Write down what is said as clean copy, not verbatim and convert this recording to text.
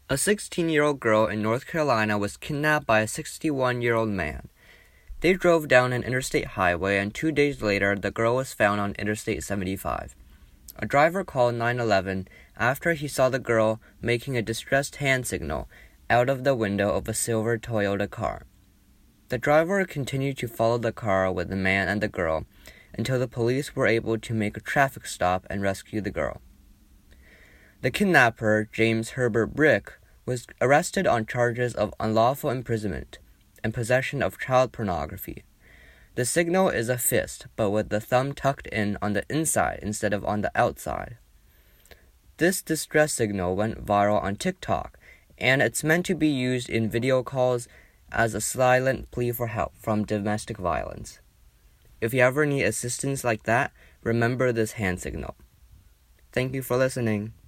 A 16-year-old girl in North Carolina was kidnapped by a 61-year-old man. They drove down an interstate highway, and 2 days later, the girl was found on Interstate 75. A driver called 911 after he saw the girl making a distressed hand signal out of the window of a silver Toyota car. The driver continued to follow the car with the man and the girl until the police were able to make a traffic stop and rescue the girl. The kidnapper, James Herbert Brick, was arrested on charges of unlawful imprisonment and possession of child pornography. The signal is a fist, but with the thumb tucked in on the inside instead of on the outside. This distress signal went viral on TikTok, and it's meant to be used in video calls as a silent plea for help from domestic violence. If you ever need assistance like that, remember this hand signal. Thank you for listening.